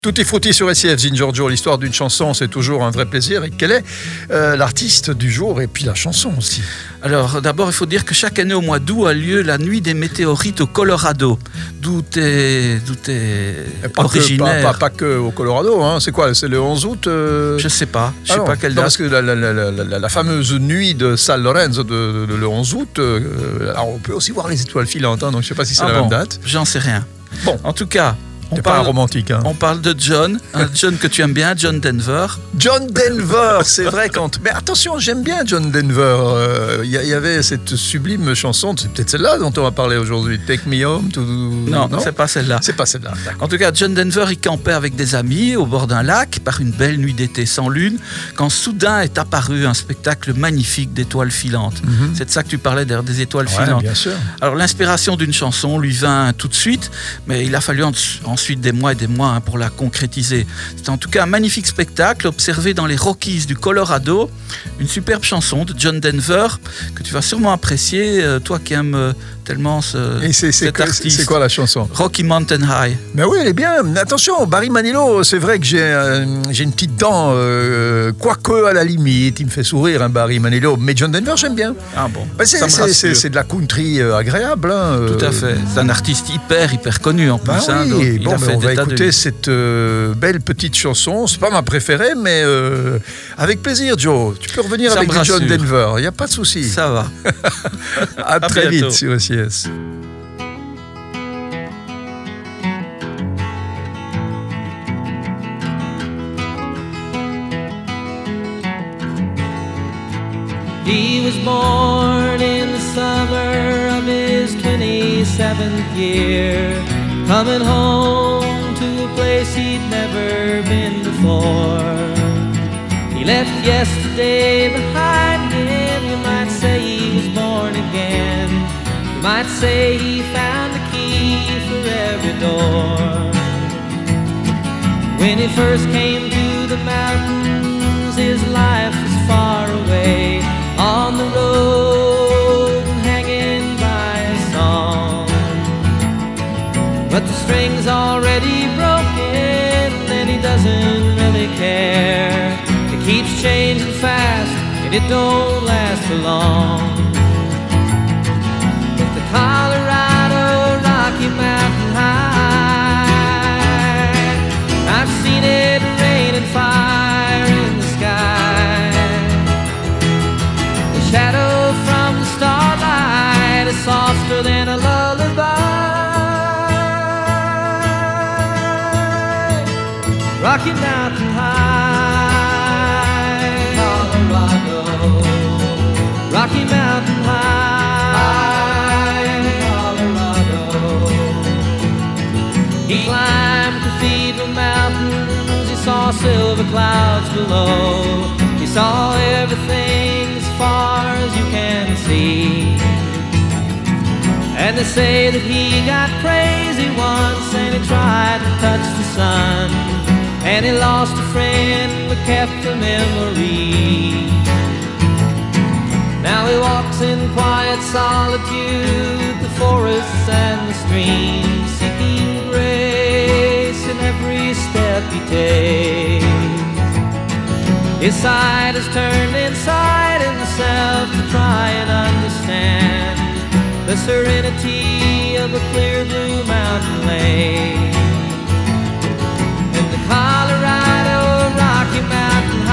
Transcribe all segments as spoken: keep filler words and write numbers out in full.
Tutti frutti sur S I F, Giorgio. L'histoire d'une chanson, c'est toujours un vrai plaisir. Et quel est euh, l'artiste du jour et puis la chanson aussi? Alors, d'abord, il faut dire que chaque année au mois d'août a lieu la nuit des météorites au Colorado, d'où t'es, d'où t'es pas originaire. Que, pas, pas, pas que au Colorado, hein. C'est quoi? C'est le onze août euh... Je sais pas, je ah sais non, pas quelle non, date. parce que la, la, la, la, la fameuse nuit de San Lorenzo de, de, de le onze août, euh, alors on peut aussi voir les étoiles filantes, hein, donc je sais pas si c'est ah la bon, même date. J'en sais rien. Bon, en tout cas. On T'es parle, pas un romantique, hein. On parle de John, un John que tu aimes bien, John Denver. John Denver, c'est vrai quand. Mais attention, j'aime bien John Denver. Il euh, y, y avait cette sublime chanson, c'est peut-être celle-là dont on va parler aujourd'hui. Take Me Home. To... Non, non, c'est pas celle-là. C'est pas celle-là. En tout cas, John Denver, il campait avec des amis au bord d'un lac par une belle nuit d'été sans lune, quand soudain est apparu un spectacle magnifique d'étoiles filantes. Mm-hmm. C'est de ça que tu parlais, d'ailleurs, des étoiles ouais, filantes. Bien sûr. Alors l'inspiration d'une chanson lui vint tout de suite, mais il a fallu en, ensuite des mois et des mois hein, pour la concrétiser. C'est en tout cas un magnifique spectacle observé dans les Rockies du Colorado, une superbe chanson de John Denver que tu vas sûrement apprécier, euh, toi qui aimes euh, tellement ce, et c'est, c'est cet que, artiste. C'est quoi la chanson? Rocky Mountain High. Mais oui, elle est bien. Attention, Barry Manilow, c'est vrai que j'ai, euh, j'ai une petite dent, euh, quoique à la limite, il me fait sourire, hein, Barry Manilow. Mais John Denver, j'aime bien. Ah bon, bah, c'est, c'est, c'est, c'est de la country euh, agréable. Hein, euh... Tout à fait. C'est un artiste hyper, hyper connu en plus. Bah hein, oui, donc il bon, a fait on va des écouter de... cette euh, belle petite chanson. C'est pas ma préférée, mais euh, avec plaisir, Joe. Tu peux revenir Ça avec du John Denver. Il n'y a pas de souci. Ça va. à, à très bientôt. vite sur S I S. He was born in the summer of his twenty-seventh year, coming home to a place he'd never been before. He left yesterday behind him. You might say he was born again. You might say he found the key for every door. When he first came to the mountains, his life was far away, on the road and hanging by a song. But the string's already broken and he doesn't really care. It keeps changing fast and it don't last for long. With the Colorado Rocky Mountain High, I've seen it rain and fire in the sky. Shadow from the starlight is softer than a lullaby. Rocky Mountain High, Colorado. Rocky Mountain High, Colorado. He climbed Cathedral Mountains. He saw silver clouds below. He saw everything as far as you can see. And they say that he got crazy once and he tried to touch the sun, and he lost a friend but kept a memory. Now he walks in quiet solitude, the forests and the streams, seeking grace in every step he takes. His side is turned inside himself to try and understand the serenity of a clear blue mountain lake. And the Colorado Rocky Mountain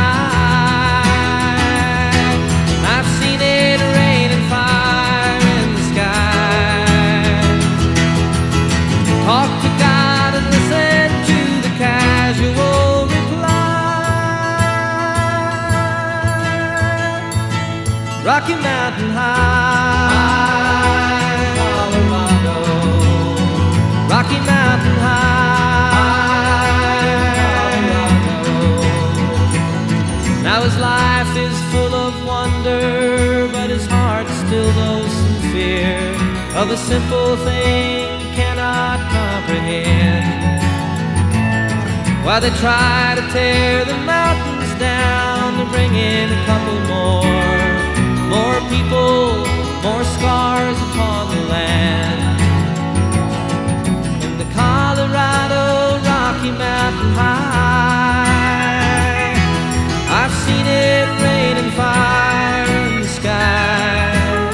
High, I've seen it rain and fire in the sky. Talk to God and listen to the casual Rocky Mountain High, Colorado. Rocky Mountain High, Colorado. Now his life is full of wonder, but his heart still knows some fear of a simple thing he cannot comprehend. While they try to tear the mountains down to bring in a couple more. More people, more scars upon the land. In the Colorado Rocky Rocky Mountain High. I've seen it rain and fire in the sky.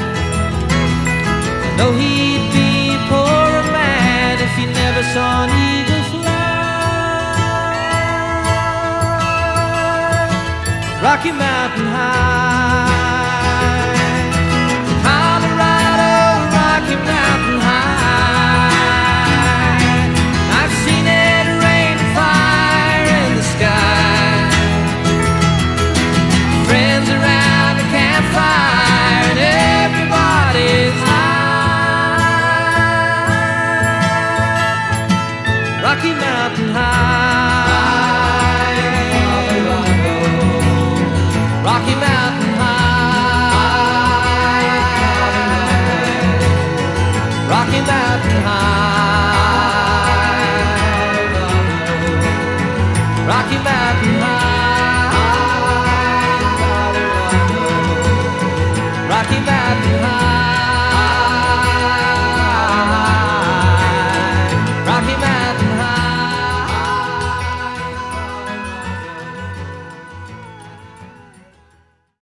I know he'd be poor and mad if he never saw an eagle fly. Rocky Mountain High.